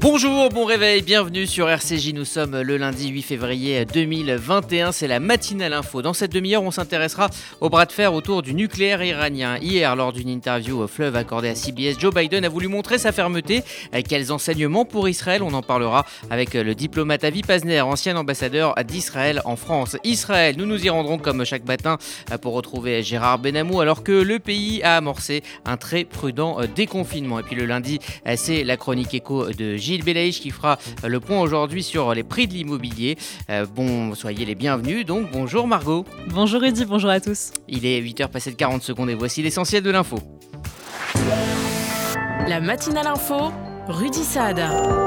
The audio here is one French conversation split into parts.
Bonjour, bon réveil, bienvenue sur RCJ, nous sommes le lundi 8 février 2021, c'est la matinale info. Dans cette demi-heure, on s'intéressera au bras de fer autour du nucléaire iranien. Hier, lors d'une interview au Fleuve accordée à CBS, Joe Biden a voulu montrer sa fermeté. Quels enseignements pour Israël? On en parlera avec le diplomate Avi Pazner, ancien ambassadeur d'Israël en France. Israël, nous nous y rendrons comme chaque matin pour retrouver Gérard Benamou alors que le pays a amorcé un très prudent déconfinement. Et puis le lundi, c'est la chronique éco de Gilles Belaïch qui fera le point aujourd'hui sur les prix de l'immobilier. Soyez les bienvenus. Donc bonjour Margot. Bonjour Rudy, bonjour à tous. Il est 8h passé de 40 secondes et voici l'essentiel de l'info. La matinale info, Rudy Saad.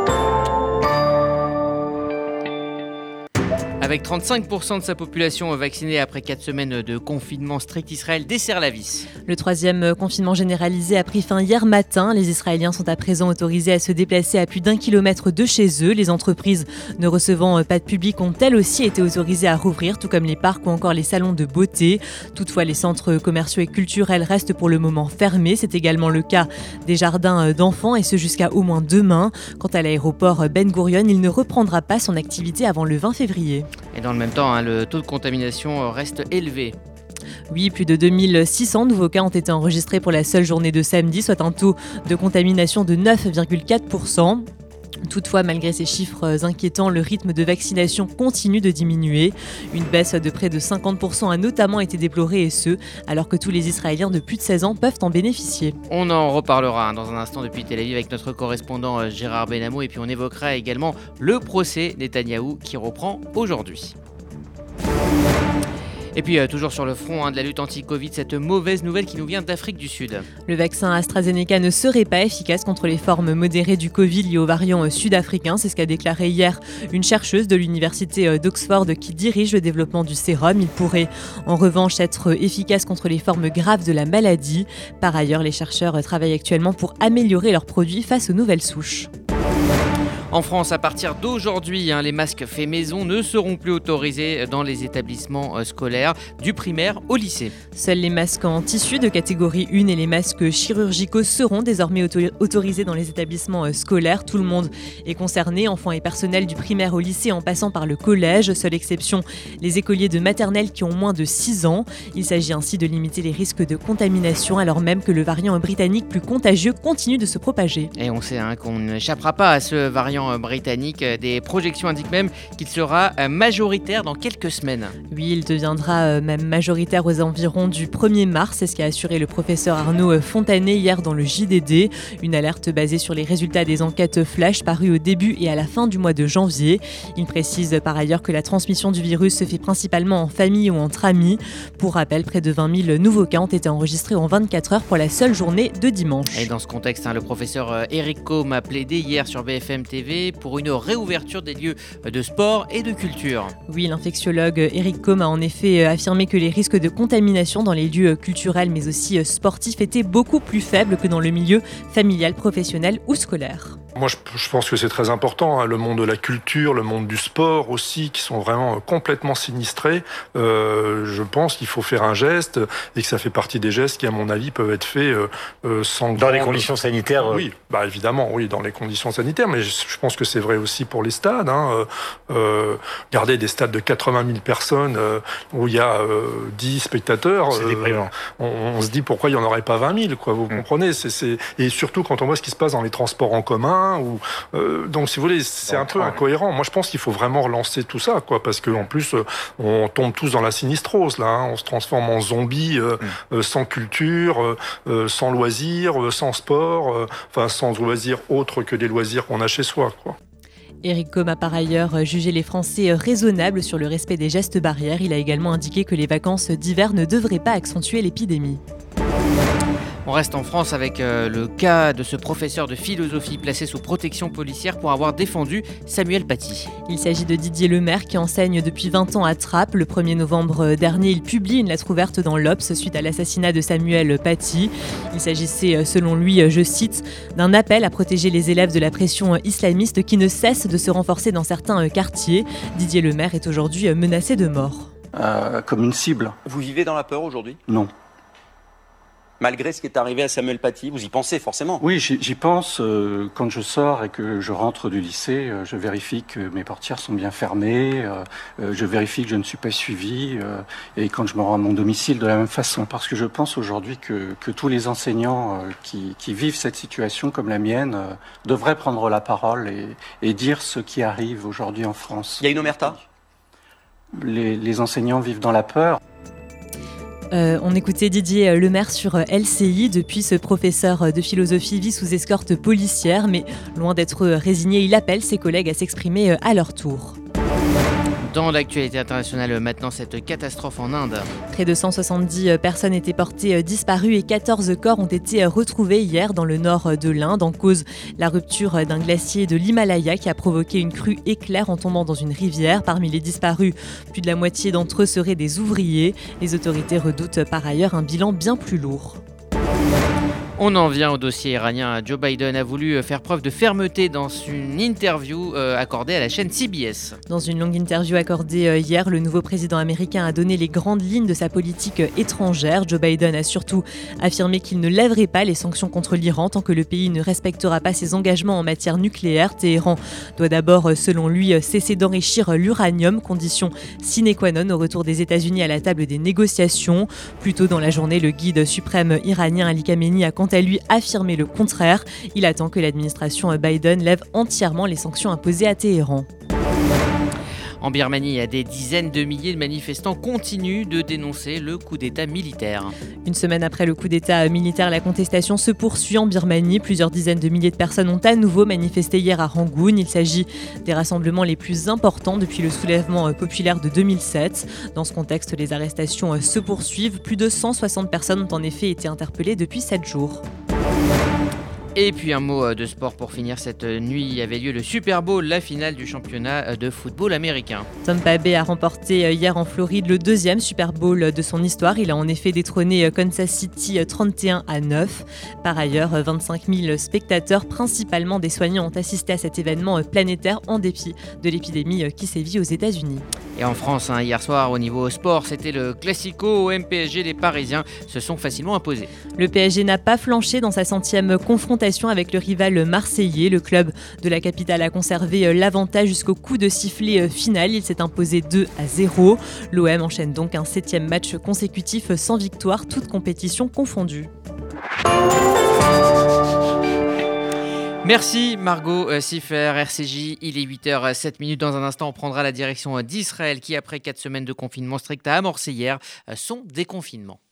Avec 35% de sa population vaccinée après 4 semaines de confinement strict, Israël desserre la vis. Le troisième confinement généralisé a pris fin hier matin. Les Israéliens sont à présent autorisés à se déplacer à plus d'1 kilomètre de chez eux. Les entreprises ne recevant pas de public ont elles aussi été autorisées à rouvrir, tout comme les parcs ou encore les salons de beauté. Toutefois, les centres commerciaux et culturels restent pour le moment fermés. C'est également le cas des jardins d'enfants et ce jusqu'à au moins demain. Quant à l'aéroport Ben Gurion, il ne reprendra pas son activité avant le 20 février. Et dans le même temps, le taux de contamination reste élevé. Oui, plus de 2600 nouveaux cas ont été enregistrés pour la seule journée de samedi, soit un taux de contamination de 9,4%. Toutefois, malgré ces chiffres inquiétants, le rythme de vaccination continue de diminuer. Une baisse de près de 50% a notamment été déplorée et ce, alors que tous les Israéliens de plus de 16 ans peuvent en bénéficier. On en reparlera dans un instant depuis Tel Aviv avec notre correspondant Gérard Benamou et puis on évoquera également le procès Netanyahou qui reprend aujourd'hui. Et puis toujours sur le front de la lutte anti-Covid, cette mauvaise nouvelle qui nous vient d'Afrique du Sud. Le vaccin AstraZeneca ne serait pas efficace contre les formes modérées du Covid liées au variant sud-africain. C'est ce qu'a déclaré hier une chercheuse de l'université d'Oxford qui dirige le développement du sérum. Il pourrait en revanche être efficace contre les formes graves de la maladie. Par ailleurs, les chercheurs travaillent actuellement pour améliorer leurs produits face aux nouvelles souches. En France, à partir d'aujourd'hui, les masques faits maison ne seront plus autorisés dans les établissements scolaires, du primaire au lycée. Seuls les masques en tissu de catégorie 1 et les masques chirurgicaux seront désormais autorisés dans les établissements scolaires. Tout le monde est concerné, enfants et personnel du primaire au lycée en passant par le collège. Seule exception, les écoliers de maternelle qui ont moins de 6 ans. Il s'agit ainsi de limiter les risques de contamination alors même que le variant britannique plus contagieux continue de se propager. Et on sait qu'on n'échappera pas à ce variant britannique. Des projections indiquent même qu'il sera majoritaire dans quelques semaines. Oui, il deviendra même majoritaire aux environs du 1er mars. C'est ce qu'a assuré le professeur Arnaud Fontanet hier dans le JDD. Une alerte basée sur les résultats des enquêtes flash parues au début et à la fin du mois de janvier. Il précise par ailleurs que la transmission du virus se fait principalement en famille ou entre amis. Pour rappel, près de 20 000 nouveaux cas ont été enregistrés en 24 heures pour la seule journée de dimanche. Et dans ce contexte, le professeur Eric Combe a plaidé hier sur BFM TV pour une réouverture des lieux de sport et de culture. Oui, l'infectiologue Eric Combe a en effet affirmé que les risques de contamination dans les lieux culturels mais aussi sportifs étaient beaucoup plus faibles que dans le milieu familial, professionnel ou scolaire. Moi, je pense que c'est très important, le monde de la culture, le monde du sport aussi, qui sont vraiment complètement sinistrés. Je pense qu'il faut faire un geste et que ça fait partie des gestes qui, à mon avis, peuvent être faits sans... Dans les conditions sanitaires Oui, évidemment, oui, dans les conditions sanitaires, mais je pense que c'est vrai aussi pour les stades. Garder des stades de 80 000 personnes où il y a 10 spectateurs, c'est déprimant. On se dit pourquoi il n'y en aurait pas 20 000, quoi, vous comprenez Et surtout quand on voit ce qui se passe dans les transports en commun, donc si vous voulez, c'est un peu incohérent. Moi je pense qu'il faut vraiment relancer tout ça, quoi, parce qu'en plus on tombe tous dans la sinistrose là, on se transforme en zombies sans culture, sans loisirs, sans sport, sans loisirs autres que des loisirs qu'on a chez soi, quoi. Eric Combe a par ailleurs jugé les Français raisonnables sur le respect des gestes barrières. Il a également indiqué que les vacances d'hiver ne devraient pas accentuer l'épidémie. On reste en France avec le cas de ce professeur de philosophie placé sous protection policière pour avoir défendu Samuel Paty. Il s'agit de Didier Lemaire qui enseigne depuis 20 ans à Trappes. Le 1er novembre dernier, il publie une lettre ouverte dans l'Obs suite à l'assassinat de Samuel Paty. Il s'agissait, selon lui, je cite, d'un appel à protéger les élèves de la pression islamiste qui ne cesse de se renforcer dans certains quartiers. Didier Lemaire est aujourd'hui menacé de mort. Comme une cible. Vous vivez dans la peur aujourd'hui ? Non. Malgré ce qui est arrivé à Samuel Paty, vous y pensez forcément? Oui, j'y pense. Quand je sors et que je rentre du lycée, je vérifie que mes portières sont bien fermées, je vérifie que je ne suis pas suivi, et quand je me rends à mon domicile de la même façon. Parce que je pense aujourd'hui que tous les enseignants qui vivent cette situation comme la mienne devraient prendre la parole et dire ce qui arrive aujourd'hui en France. Il y a une omerta? Les enseignants vivent dans la peur. On écoutait Didier Lemaire sur LCI. Depuis, ce professeur de philosophie vit sous escorte policière, mais loin d'être résigné, il appelle ses collègues à s'exprimer à leur tour. Dans l'actualité internationale, maintenant, cette catastrophe en Inde. Près de 170 personnes étaient portées disparues et 14 corps ont été retrouvés hier dans le nord de l'Inde. En cause, la rupture d'un glacier de l'Himalaya qui a provoqué une crue éclair en tombant dans une rivière. Parmi les disparus, plus de la moitié d'entre eux seraient des ouvriers. Les autorités redoutent par ailleurs un bilan bien plus lourd. On en vient au dossier iranien. Joe Biden a voulu faire preuve de fermeté dans une interview accordée à la chaîne CBS. Dans une longue interview accordée hier, le nouveau président américain a donné les grandes lignes de sa politique étrangère. Joe Biden a surtout affirmé qu'il ne lèverait pas les sanctions contre l'Iran tant que le pays ne respectera pas ses engagements en matière nucléaire. Téhéran doit d'abord, selon lui, cesser d'enrichir l'uranium, condition sine qua non au retour des États-Unis à la table des négociations. Plus tôt dans la journée, le guide suprême iranien Ali Khamenei a quant à lui affirmé le contraire. Il attend que l'administration Biden lève entièrement les sanctions imposées à Téhéran. En Birmanie, des dizaines de milliers de manifestants continuent de dénoncer le coup d'État militaire. Une semaine après le coup d'État militaire, la contestation se poursuit en Birmanie. Plusieurs dizaines de milliers de personnes ont à nouveau manifesté hier à Rangoon. Il s'agit des rassemblements les plus importants depuis le soulèvement populaire de 2007. Dans ce contexte, les arrestations se poursuivent. Plus de 160 personnes ont en effet été interpellées depuis 7 jours. Et puis un mot de sport pour finir. Cette nuit avait lieu le Super Bowl, la finale du championnat de football américain. Tampa Bay a remporté hier en Floride le deuxième Super Bowl de son histoire. Il a en effet détrôné Kansas City 31-9. Par ailleurs, 25 000 spectateurs, principalement des soignants, ont assisté à cet événement planétaire en dépit de l'épidémie qui sévit aux États-Unis. Et en France, hier soir, au niveau sport, c'était le Classico au MPSG. Les Parisiens se sont facilement imposés. Le PSG n'a pas flanché dans sa 100e confrontation avec le rival marseillais. Le club de la capitale a conservé l'avantage jusqu'au coup de sifflet final. Il s'est imposé 2-0. L'OM enchaîne donc un 7e match consécutif sans victoire, toutes compétitions confondues. Merci Margot Siffer, RCJ, il est 8h07. Dans un instant, on prendra la direction d'Israël qui, après 4 semaines de confinement strict, a amorcé hier son déconfinement.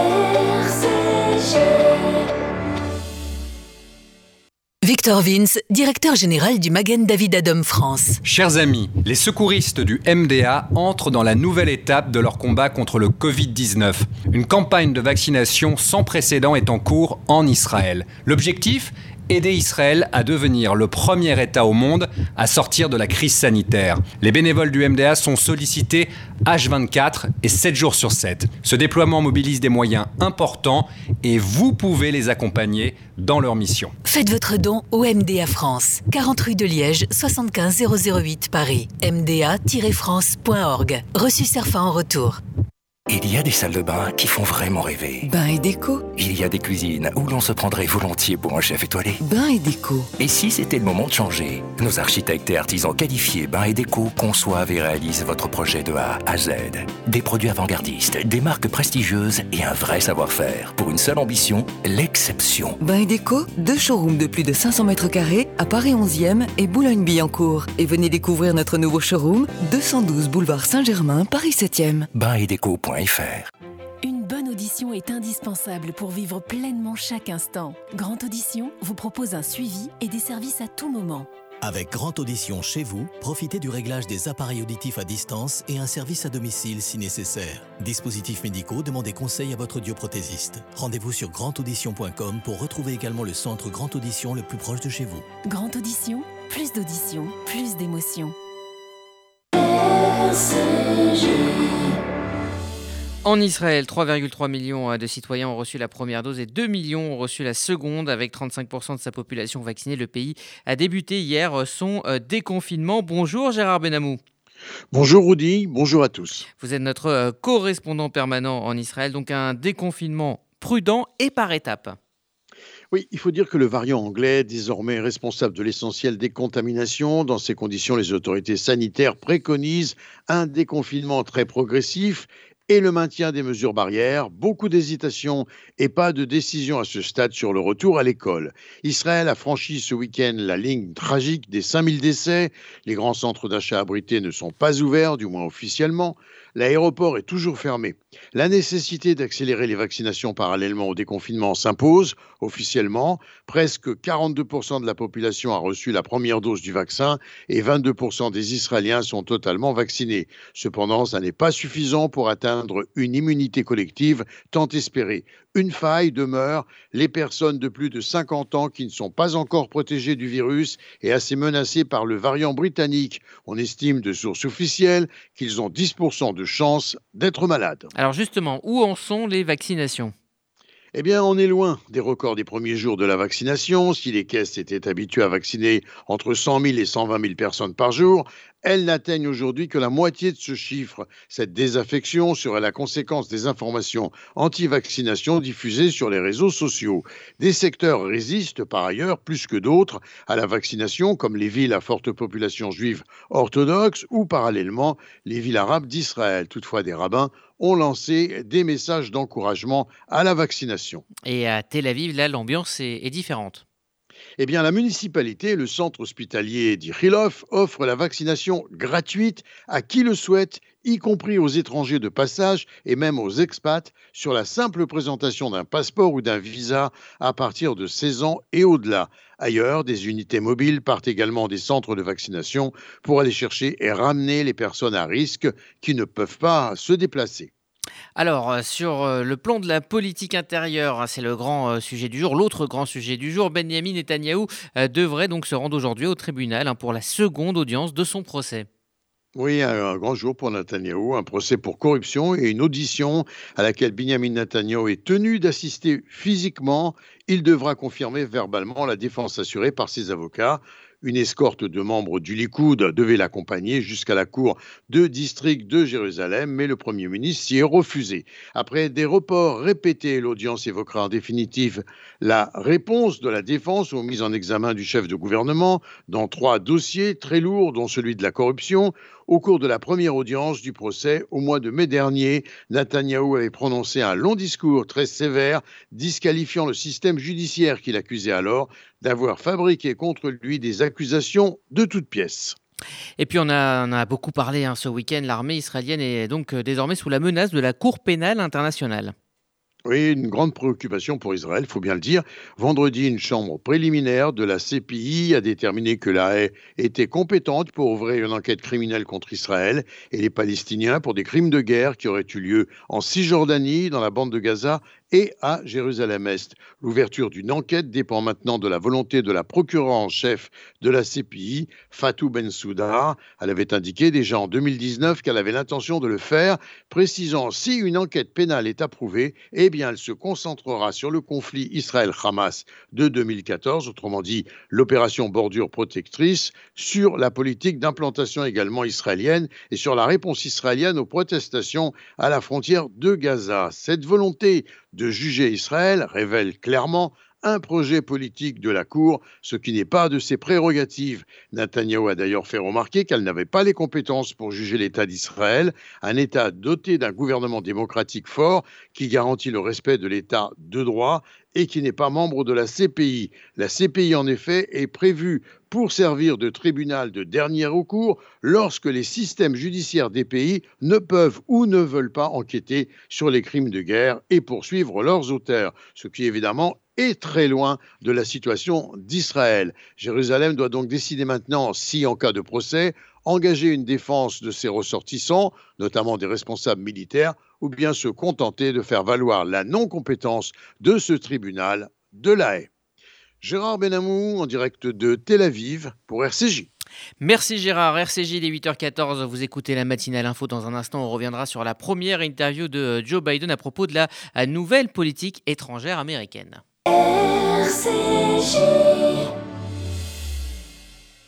Victor Vince, directeur général du Magen David Adom France. Chers amis, les secouristes du MDA entrent dans la nouvelle étape de leur combat contre le Covid-19. Une campagne de vaccination sans précédent est en cours en Israël. L'objectif ? Aider Israël à devenir le premier État au monde à sortir de la crise sanitaire. Les bénévoles du MDA sont sollicités H24 et 7 jours sur 7. Ce déploiement mobilise des moyens importants et vous pouvez les accompagner dans leur mission. Faites votre don au MDA France, 40 rue de Liège, 75 008 Paris. mda-france.org. Reçu Cerfa en retour. Il y a des salles de bain qui font vraiment rêver. Bain et déco. Il y a des cuisines où l'on se prendrait volontiers pour un chef étoilé. Bain et déco. Et si c'était le moment de changer? Nos architectes et artisans qualifiés Bain et déco conçoivent et réalisent votre projet de A à Z. Des produits avant-gardistes, des marques prestigieuses et un vrai savoir-faire. Pour une seule ambition, l'exception. Bain et déco, 2 showrooms de plus de 500 mètres carrés à Paris 11e et Boulogne-Billancourt. Et venez découvrir notre nouveau showroom, 212 boulevard Saint-Germain, Paris 7e. Bainetdeco.fr. Une bonne audition est indispensable pour vivre pleinement chaque instant. Grande Audition vous propose un suivi et des services à tout moment. Avec Grande Audition chez vous, profitez du réglage des appareils auditifs à distance et un service à domicile si nécessaire. Dispositifs médicaux, demandez conseil à votre audioprothésiste. Rendez-vous sur grandaudition.com pour retrouver également le centre Grande Audition le plus proche de chez vous. Grande Audition, plus d'audition, plus d'émotion. En Israël, 3,3 millions de citoyens ont reçu la première dose et 2 millions ont reçu la seconde. Avec 35% de sa population vaccinée, le pays a débuté hier son déconfinement. Bonjour Gérard Benamou. Bonjour Rudy, bonjour à tous. Vous êtes notre correspondant permanent en Israël, donc un déconfinement prudent et par étapes. Oui, il faut dire que le variant anglais, désormais responsable de l'essentiel des contaminations, dans ces conditions, les autorités sanitaires préconisent un déconfinement très progressif et le maintien des mesures barrières, beaucoup d'hésitations et pas de décision à ce stade sur le retour à l'école. Israël a franchi ce week-end la ligne tragique des 5000 décès. Les grands centres d'achat abrités ne sont pas ouverts, du moins officiellement. L'aéroport est toujours fermé. La nécessité d'accélérer les vaccinations parallèlement au déconfinement s'impose. Officiellement, presque 42% de la population a reçu la première dose du vaccin et 22% des Israéliens sont totalement vaccinés. Cependant, ça n'est pas suffisant pour atteindre une immunité collective tant espérée. Une faille demeure, les personnes de plus de 50 ans qui ne sont pas encore protégées du virus et assez menacées par le variant britannique. On estime de sources officielles qu'ils ont 10% de chances d'être malades. Alors justement, où en sont les vaccinations ? Eh bien, on est loin des records des premiers jours de la vaccination. Si les caisses étaient habituées à vacciner entre 100 000 et 120 000 personnes par jour, elles n'atteignent aujourd'hui que la moitié de ce chiffre. Cette désaffection serait la conséquence des informations anti-vaccination diffusées sur les réseaux sociaux. Des secteurs résistent par ailleurs plus que d'autres à la vaccination, comme les villes à forte population juive orthodoxe ou parallèlement les villes arabes d'Israël. Toutefois, des rabbins ont lancé des messages d'encouragement à la vaccination. Et à Tel Aviv, là, l'ambiance est différente. Eh bien, la municipalité et le centre hospitalier d'Ichilov offrent la vaccination gratuite à qui le souhaite, y compris aux étrangers de passage et même aux expats, sur la simple présentation d'un passeport ou d'un visa à partir de 16 ans et au-delà. Ailleurs, des unités mobiles partent également des centres de vaccination pour aller chercher et ramener les personnes à risque qui ne peuvent pas se déplacer. Alors, sur le plan de la politique intérieure, c'est le grand sujet du jour. L'autre grand sujet du jour, Benyamin Netanyahou devrait donc se rendre aujourd'hui au tribunal pour la seconde audience de son procès. Oui, un grand jour pour Netanyahou, un procès pour corruption et une audition à laquelle Benyamin Netanyahou est tenu d'assister physiquement. Il devra confirmer verbalement la défense assurée par ses avocats. Une escorte de membres du Likoud devait l'accompagner jusqu'à la cour de district de Jérusalem, mais le Premier ministre s'y est refusé. Après des reports répétés, l'audience évoquera en définitive la réponse de la défense aux mises en examen du chef de gouvernement dans 3 dossiers très lourds, dont celui de la corruption. Au cours de la première audience du procès, au mois de mai dernier, Netanyahou avait prononcé un long discours très sévère, disqualifiant le système judiciaire qu'il accusait alors d'avoir fabriqué contre lui des accusations de toutes pièces. Et puis on a beaucoup parlé ce week-end, l'armée israélienne est donc désormais sous la menace de la Cour pénale internationale. Oui, une grande préoccupation pour Israël, il faut bien le dire. Vendredi, une chambre préliminaire de la CPI a déterminé que la Haye était compétente pour ouvrir une enquête criminelle contre Israël et les Palestiniens pour des crimes de guerre qui auraient eu lieu en Cisjordanie, dans la bande de Gaza et à Jérusalem-Est. L'ouverture d'une enquête dépend maintenant de la volonté de la procureure en chef de la CPI, Fatou Bensouda. Elle avait indiqué déjà en 2019 qu'elle avait l'intention de le faire, précisant si une enquête pénale est approuvée, eh bien elle se concentrera sur le conflit Israël-Hamas de 2014, autrement dit l'opération Bordure protectrice, sur la politique d'implantation également israélienne et sur la réponse israélienne aux protestations à la frontière de Gaza. Cette volonté de juger Israël révèle clairement un projet politique de la Cour, ce qui n'est pas de ses prérogatives. Netanyahou a d'ailleurs fait remarquer qu'elle n'avait pas les compétences pour juger l'État d'Israël, un État doté d'un gouvernement démocratique fort qui garantit le respect de l'État de droit et qui n'est pas membre de la CPI. La CPI, en effet, est prévue pour servir de tribunal de dernier recours lorsque les systèmes judiciaires des pays ne peuvent ou ne veulent pas enquêter sur les crimes de guerre et poursuivre leurs auteurs, ce qui évidemment est très loin de la situation d'Israël. Jérusalem doit donc décider maintenant si, en cas de procès, engager une défense de ses ressortissants, notamment des responsables militaires, ou bien se contenter de faire valoir la non-compétence de ce tribunal de la Haye. Gérard Benamou, en direct de Tel Aviv, pour RCJ. Merci Gérard, RCJ, il est 8h14, vous écoutez la matinale info. Dans un instant, on reviendra sur la première interview de Joe Biden à propos de la nouvelle politique étrangère américaine. RCJ.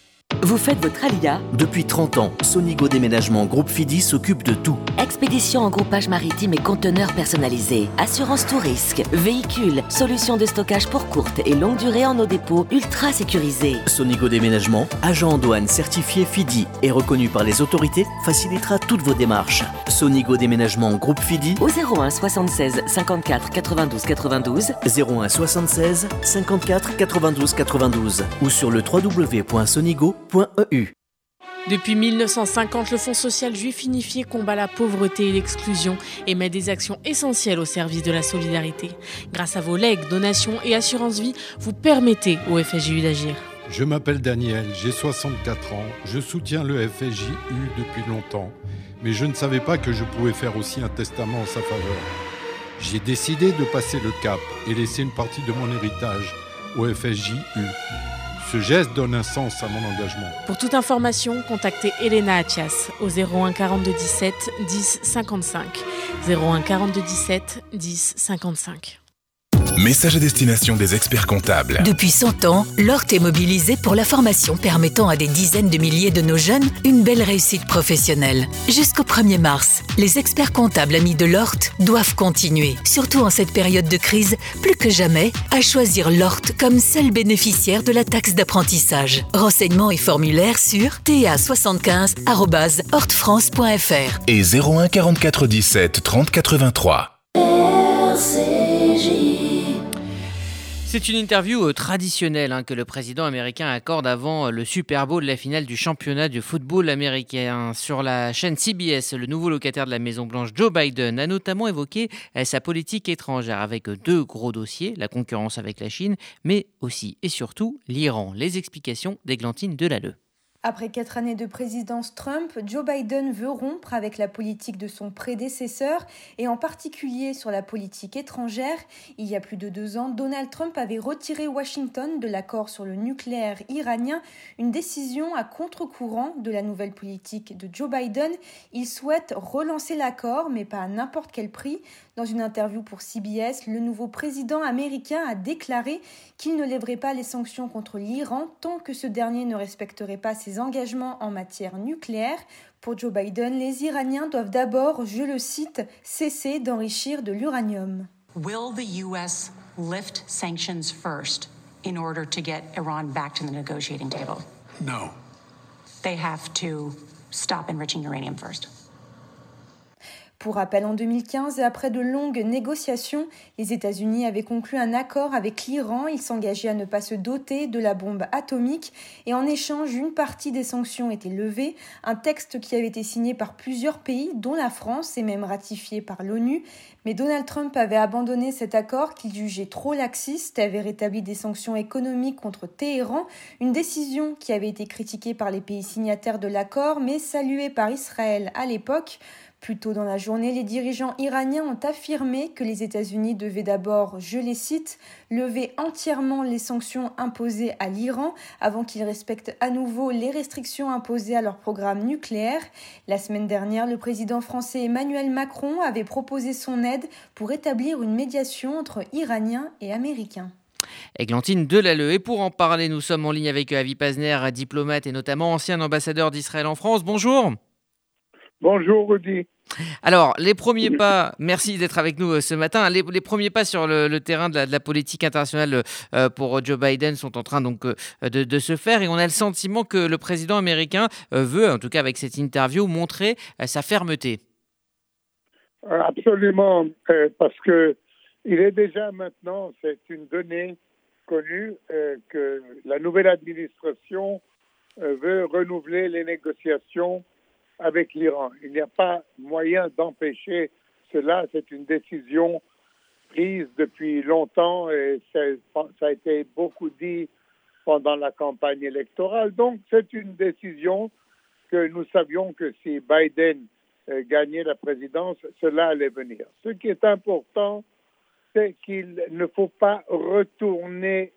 Vous faites votre alia? Depuis 30 ans, Sonigo Déménagement Groupe Fidi s'occupe de tout. Expédition en groupage maritime et conteneurs personnalisés. Assurance tout risque. Véhicules. Solutions de stockage pour courte et longue durée en nos dépôts ultra sécurisés. Sonigo Déménagement, agent en douane certifié Fidi et reconnu par les autorités, facilitera toutes vos démarches. Sonigo Déménagement Groupe Fidi au 01 76 54 92 92 01 76 54 92 92 ou sur le www.sonigo.eu. Depuis 1950, le Fonds social juif unifié combat la pauvreté et l'exclusion et met des actions essentielles au service de la solidarité. Grâce à vos legs, donations et assurances vie, vous permettez au FSJU d'agir. Je m'appelle Daniel, j'ai 64 ans, je soutiens le FSJU depuis longtemps, mais je ne savais pas que je pouvais faire aussi un testament en sa faveur. J'ai décidé de passer le cap et laisser une partie de mon héritage au FSJU. Ce geste donne un sens à mon engagement. Pour toute information, contactez Elena Athias au 01 42 17 10 55. 01 42 17 10 55. Message à destination des experts comptables. Depuis 100 ans, l'ORT est mobilisé pour la formation permettant à des dizaines de milliers de nos jeunes une belle réussite professionnelle. Jusqu'au 1er mars, les experts comptables amis de l'ORT doivent continuer, surtout en cette période de crise, plus que jamais, à choisir l'ORT comme seul bénéficiaire de la taxe d'apprentissage. Renseignements et formulaires sur ta75@ortfrance.fr et 01 44 17 30 83. C'est une interview traditionnelle que le président américain accorde avant le Super Bowl, la finale du championnat de football américain. Sur la chaîne CBS, le nouveau locataire de la Maison-Blanche, Joe Biden, a notamment évoqué sa politique étrangère avec deux gros dossiers, la concurrence avec la Chine, mais aussi et surtout l'Iran. Les explications d'Églantine Delalleux. Après 4 années de présidence Trump, Joe Biden veut rompre avec la politique de son prédécesseur et en particulier sur la politique étrangère. Il y a plus de 2 ans, Donald Trump avait retiré Washington de l'accord sur le nucléaire iranien, une décision à contre-courant de la nouvelle politique de Joe Biden. Il souhaite relancer l'accord, mais pas à n'importe quel prix. Dans une interview pour CBS, le nouveau président américain a déclaré qu'il ne lèverait pas les sanctions contre l'Iran tant que ce dernier ne respecterait pas ses engagements en matière nucléaire. Pour Joe Biden, les Iraniens doivent d'abord, je le cite, cesser d'enrichir de l'uranium. Will the US lift sanctions first in order to get Iran back to the negotiating table? No. They have to stop enriching uranium first. Pour rappel, en 2015, et après de longues négociations, les États-Unis avaient conclu un accord avec l'Iran. Ils s'engageaient à ne pas se doter de la bombe atomique et en échange, une partie des sanctions était levée. Un texte qui avait été signé par plusieurs pays, dont la France, et même ratifié par l'ONU. Mais Donald Trump avait abandonné cet accord qu'il jugeait trop laxiste et avait rétabli des sanctions économiques contre Téhéran, une décision qui avait été critiquée par les pays signataires de l'accord, mais saluée par Israël à l'époque. Plus tôt dans la journée, les dirigeants iraniens ont affirmé que les États-Unis devaient d'abord, je les cite, lever entièrement les sanctions imposées à l'Iran avant qu'ils respectent à nouveau les restrictions imposées à leur programme nucléaire. La semaine dernière, le président français Emmanuel Macron avait proposé son aide pour établir une médiation entre Iraniens et Américains. Églantine Delalleux. Et pour en parler, nous sommes en ligne avec Avi Pazner, diplomate et notamment ancien ambassadeur d'Israël en France. Bonjour. Bonjour Rudy. Alors, les premiers pas, merci d'être avec nous ce matin, les premiers pas sur le terrain de la politique internationale pour Joe Biden sont en train donc de se faire et on a le sentiment que le président américain veut, en tout cas avec cette interview, montrer sa fermeté. Absolument, parce que il est déjà maintenant, c'est une donnée connue que la nouvelle administration veut renouveler les négociations avec l'Iran. Il n'y a pas moyen d'empêcher cela. C'est une décision prise depuis longtemps et ça a été beaucoup dit pendant la campagne électorale. Donc, c'est une décision que nous savions que si Biden gagnait la présidence, cela allait venir. Ce qui est important, c'est qu'il ne faut pas retourner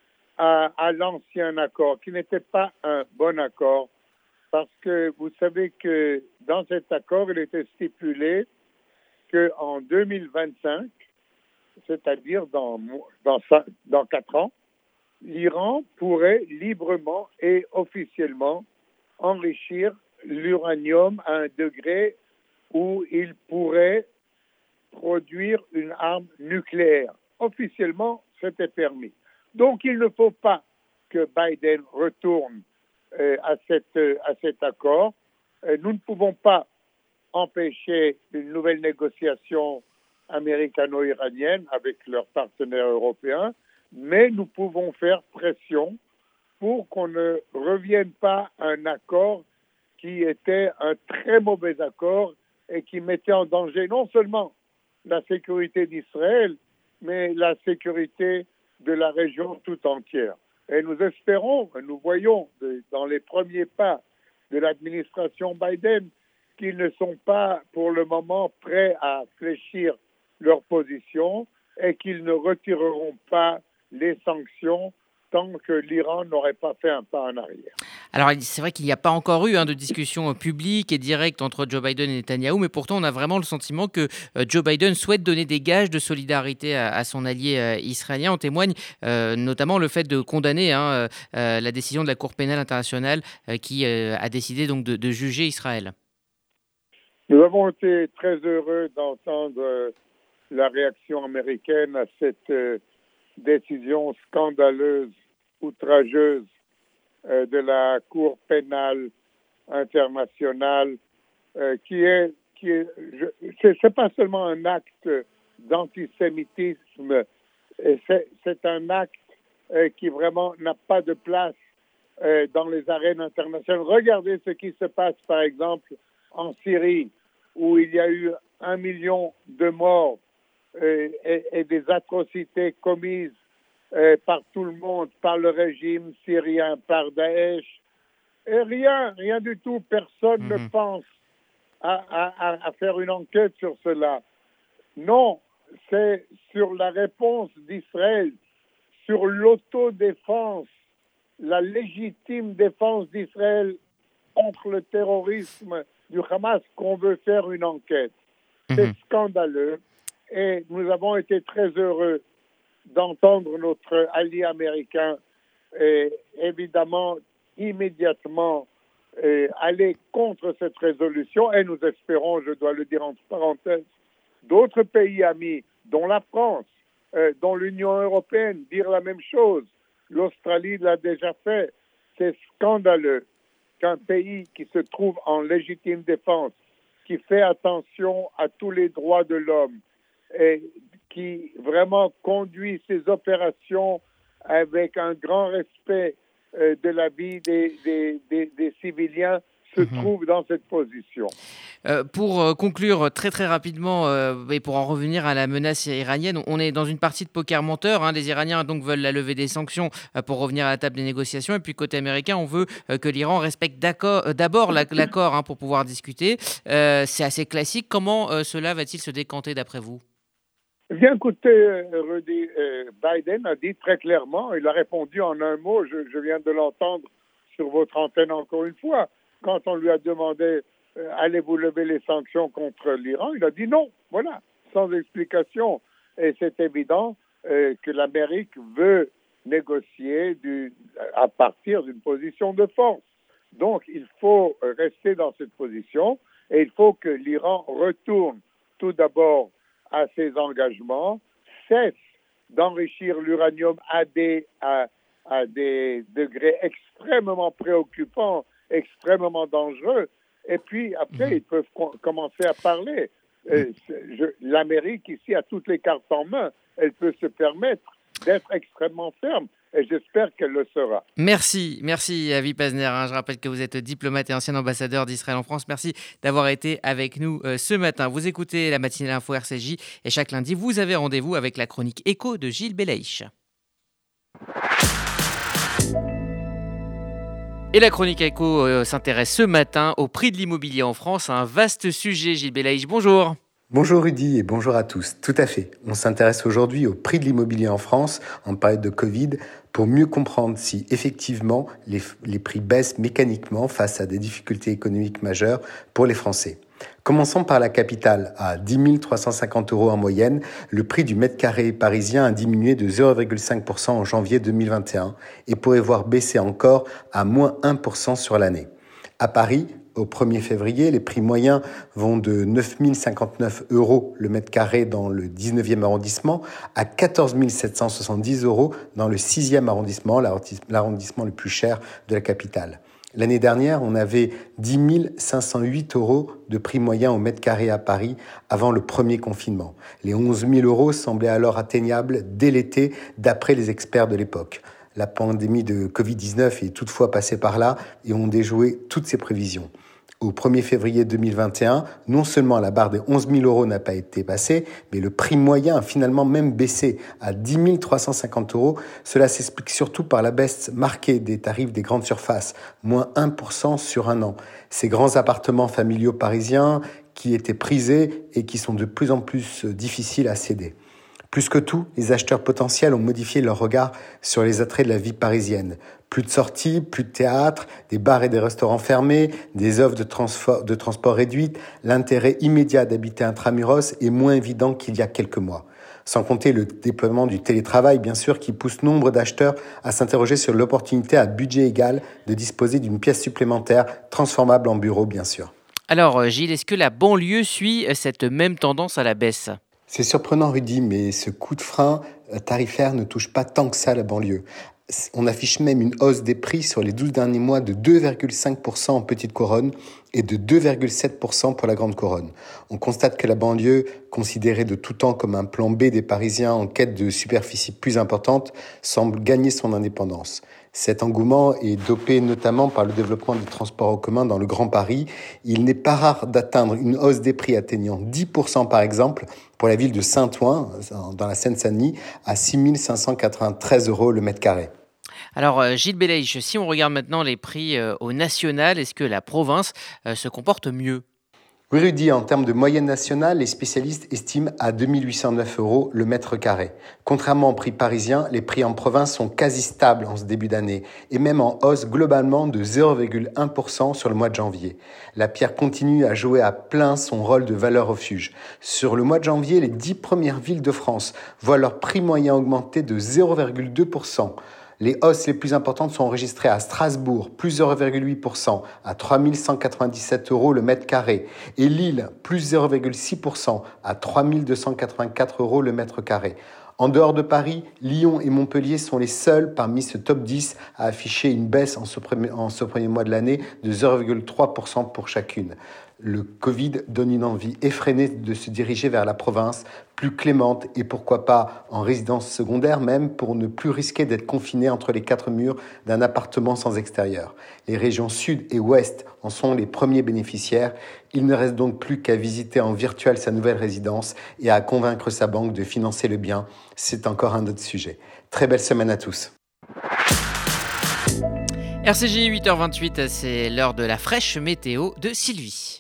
à l'ancien accord, qui n'était pas un bon accord. Parce que vous savez que dans cet accord, il était stipulé qu'en 2025, c'est-à-dire dans 4 ans, l'Iran pourrait librement et officiellement enrichir l'uranium à un degré où il pourrait produire une arme nucléaire. Officiellement, c'était permis. Donc, il ne faut pas que Biden retourne à cet accord. Nous ne pouvons pas empêcher une nouvelle négociation américano-iranienne avec leurs partenaires européens, mais nous pouvons faire pression pour qu'on ne revienne pas à un accord qui était un très mauvais accord et qui mettait en danger non seulement la sécurité d'Israël, mais la sécurité de la région tout entière. Et nous espérons, nous voyons dans les premiers pas de l'administration Biden qu'ils ne sont pas pour le moment prêts à fléchir leur position et qu'ils ne retireront pas les sanctions tant que l'Iran n'aurait pas fait un pas en arrière. Alors, c'est vrai qu'il n'y a pas encore eu de discussion publique et directe entre Joe Biden et Netanyahou, mais pourtant, on a vraiment le sentiment que Joe Biden souhaite donner des gages de solidarité à son allié israélien. En témoigne notamment le fait de condamner la décision de la Cour pénale internationale qui a décidé donc de juger Israël. Nous avons été très heureux d'entendre la réaction américaine à cette décision scandaleuse, outrageuse de la Cour pénale internationale, c'est pas seulement un acte d'antisémitisme, c'est un acte qui vraiment n'a pas de place dans les arènes internationales. Regardez ce qui se passe, par exemple, en Syrie, où il y a eu 1 million de morts et des atrocités commises par tout le monde, par le régime syrien, par Daesh. Et rien du tout. Personne ne pense à faire une enquête sur cela. Non, c'est sur la réponse d'Israël, sur l'autodéfense, la légitime défense d'Israël contre le terrorisme du Hamas qu'on veut faire une enquête. C'est scandaleux et nous avons été très heureux d'entendre notre allié américain évidemment immédiatement aller contre cette résolution et nous espérons, je dois le dire entre parenthèses, d'autres pays amis, dont la France, dont l'Union européenne, dire la même chose. L'Australie l'a déjà fait. C'est scandaleux qu'un pays qui se trouve en légitime défense, qui fait attention à tous les droits de l'homme et qui vraiment conduit ses opérations avec un grand respect de la vie des civiliens, se trouve dans cette position. Pour conclure très très rapidement et pour en revenir à la menace iranienne, on est dans une partie de poker menteur. Les Iraniens donc veulent la levée des sanctions pour revenir à la table des négociations. Et puis côté américain, on veut que l'Iran respecte d'abord l'accord pour pouvoir discuter. C'est assez classique. Comment cela va-t-il se décanter d'après vous ? Bien, écoutez, Rudy, Biden a dit très clairement, il a répondu en un mot, je viens de l'entendre sur votre antenne encore une fois, quand on lui a demandé allez-vous lever les sanctions contre l'Iran, il a dit non, voilà, sans explication. Et c'est évident que l'Amérique veut négocier à partir d'une position de force. Donc, il faut rester dans cette position et il faut que l'Iran retourne tout d'abord à ses engagements, cesse d'enrichir l'uranium à des degrés extrêmement préoccupants, extrêmement dangereux, et puis après, ils peuvent commencer à parler. L'Amérique, ici, a toutes les cartes en main. Elle peut se permettre d'être extrêmement ferme. Et j'espère qu'elle le sera. Merci Avi Pazner. Je rappelle que vous êtes diplomate et ancien ambassadeur d'Israël en France. Merci d'avoir été avec nous ce matin. Vous écoutez la matinale info RCJ et chaque lundi, vous avez rendez-vous avec la chronique Écho de Gilles Belaïch. Et la chronique Écho s'intéresse ce matin au prix de l'immobilier en France. Un vaste sujet, Gilles Belaïch. Bonjour. Bonjour Rudy et bonjour à tous. Tout à fait. On s'intéresse aujourd'hui au prix de l'immobilier en France en période de Covid pour mieux comprendre si effectivement les prix baissent mécaniquement face à des difficultés économiques majeures pour les Français. Commençons par la capitale. À 10 350 € en moyenne, le prix du mètre carré parisien a diminué de 0,5% en janvier 2021 et pourrait voir baisser encore à moins 1% sur l'année. À Paris, au 1er février, les prix moyens vont de 9 059 € le mètre carré dans le 19e arrondissement à 14 770 € dans le 6e arrondissement, l'arrondissement le plus cher de la capitale. L'année dernière, on avait 10 508 € de prix moyen au mètre carré à Paris avant le premier confinement. Les 11 000 € semblaient alors atteignables dès l'été, d'après les experts de l'époque. La pandémie de Covid-19 est toutefois passée par là et ont déjoué toutes ces prévisions. Au 1er février 2021, non seulement la barre des 11 000 € n'a pas été passée, mais le prix moyen a finalement même baissé à 10 350 €. Cela s'explique surtout par la baisse marquée des tarifs des grandes surfaces, moins 1% sur un an. Ces grands appartements familiaux parisiens qui étaient prisés et qui sont de plus en plus difficiles à céder. Plus que tout, les acheteurs potentiels ont modifié leur regard sur les attraits de la vie parisienne. Plus de sorties, plus de théâtres, des bars et des restaurants fermés, des offres de transport réduites, l'intérêt immédiat d'habiter intramuros est moins évident qu'il y a quelques mois. Sans compter le déploiement du télétravail, bien sûr, qui pousse nombre d'acheteurs à s'interroger sur l'opportunité à budget égal de disposer d'une pièce supplémentaire, transformable en bureau, bien sûr. Alors Gilles, est-ce que la banlieue suit cette même tendance à la baisse ? C'est surprenant, Rudy, mais ce coup de frein tarifaire ne touche pas tant que ça la banlieue. On affiche même une hausse des prix sur les 12 derniers mois de 2,5% en petite couronne et de 2,7% pour la grande couronne. On constate que la banlieue, considérée de tout temps comme un plan B des Parisiens en quête de superficie plus importante, semble gagner son indépendance. Cet engouement est dopé notamment par le développement des transports en commun dans le Grand Paris. Il n'est pas rare d'atteindre une hausse des prix atteignant 10% par exemple pour la ville de Saint-Ouen, dans la Seine-Saint-Denis, à 6 593 € le mètre carré. Alors Gilles Belaïch, si on regarde maintenant les prix au national, est-ce que la province se comporte mieux ? Oui, Rudy, en termes de moyenne nationale, les spécialistes estiment à 2 809 € le mètre carré. Contrairement aux prix parisiens, les prix en province sont quasi stables en ce début d'année et même en hausse globalement de 0,1% sur le mois de janvier. La pierre continue à jouer à plein son rôle de valeur refuge. Sur le mois de janvier, les 10 premières villes de France voient leur prix moyen augmenter de 0,2%. Les hausses les plus importantes sont enregistrées à Strasbourg, plus 0,8% à 3 197 € le mètre carré, et Lille, plus 0,6% à 3 284 € le mètre carré. En dehors de Paris, Lyon et Montpellier sont les seuls parmi ce top 10 à afficher une baisse en ce premier mois de l'année de 0,3% pour chacune. Le Covid donne une envie effrénée de se diriger vers la province, plus clémente et pourquoi pas en résidence secondaire même pour ne plus risquer d'être confiné entre les quatre murs d'un appartement sans extérieur. Les régions sud et ouest en sont les premiers bénéficiaires. Il ne reste donc plus qu'à visiter en virtuel sa nouvelle résidence et à convaincre sa banque de financer le bien. C'est encore un autre sujet. Très belle semaine à tous. RCJ 8h28, c'est l'heure de la fraîche météo de Sylvie.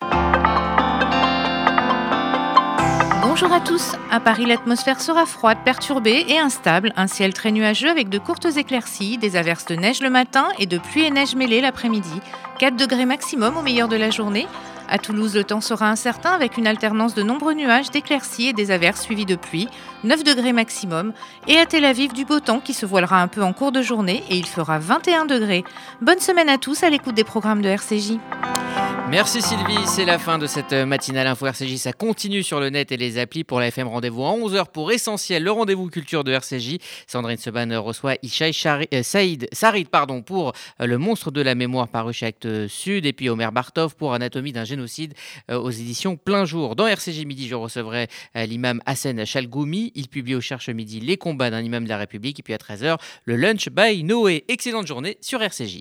Bonjour à tous. À Paris, l'atmosphère sera froide, perturbée et instable. Un ciel très nuageux avec de courtes éclaircies, des averses de neige le matin et de pluie et neige mêlée l'après-midi. 4 degrés maximum au meilleur de la journée. À Toulouse, le temps sera incertain avec une alternance de nombreux nuages, d'éclaircies et des averses suivies de pluie. 9 degrés maximum. Et à Tel Aviv, du beau temps qui se voilera un peu en cours de journée et il fera 21 degrés. Bonne semaine à tous à l'écoute des programmes de RCJ. Merci Sylvie, c'est la fin de cette matinale Info RCJ. Ça continue sur le net et les applis. Pour la FM, rendez-vous à 11h pour Essentiel, le rendez-vous culture de RCJ. Sandrine Seban reçoit Ishaï Sarid pour Le monstre de la mémoire paru chez Actes Sud. Et puis Omer Bartov pour Anatomie d'un génocide aux éditions Plein Jour. Dans RCJ Midi, je recevrai l'imam Hassen Chalgoumi. Il publie au Cherche Midi Les combats d'un imam de la République. Et puis à 13h, le Lunch by Noé. Excellente journée sur RCJ.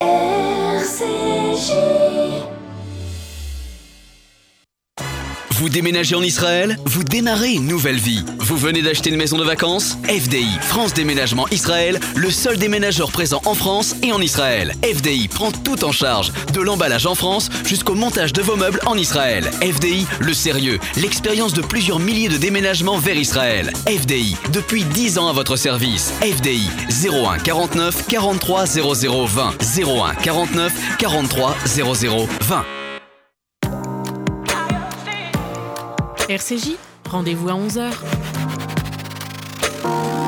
RCJ. Vous déménagez en Israël? Vous démarrez une nouvelle vie. Vous venez d'acheter une maison de vacances? FDI, France Déménagement Israël, le seul déménageur présent en France et en Israël. FDI prend tout en charge, de l'emballage en France jusqu'au montage de vos meubles en Israël. FDI, le sérieux, l'expérience de plusieurs milliers de déménagements vers Israël. FDI, depuis 10 ans à votre service. FDI, 01 49 43 00 20. 01 49 43 00 20. RCJ, rendez-vous à 11h.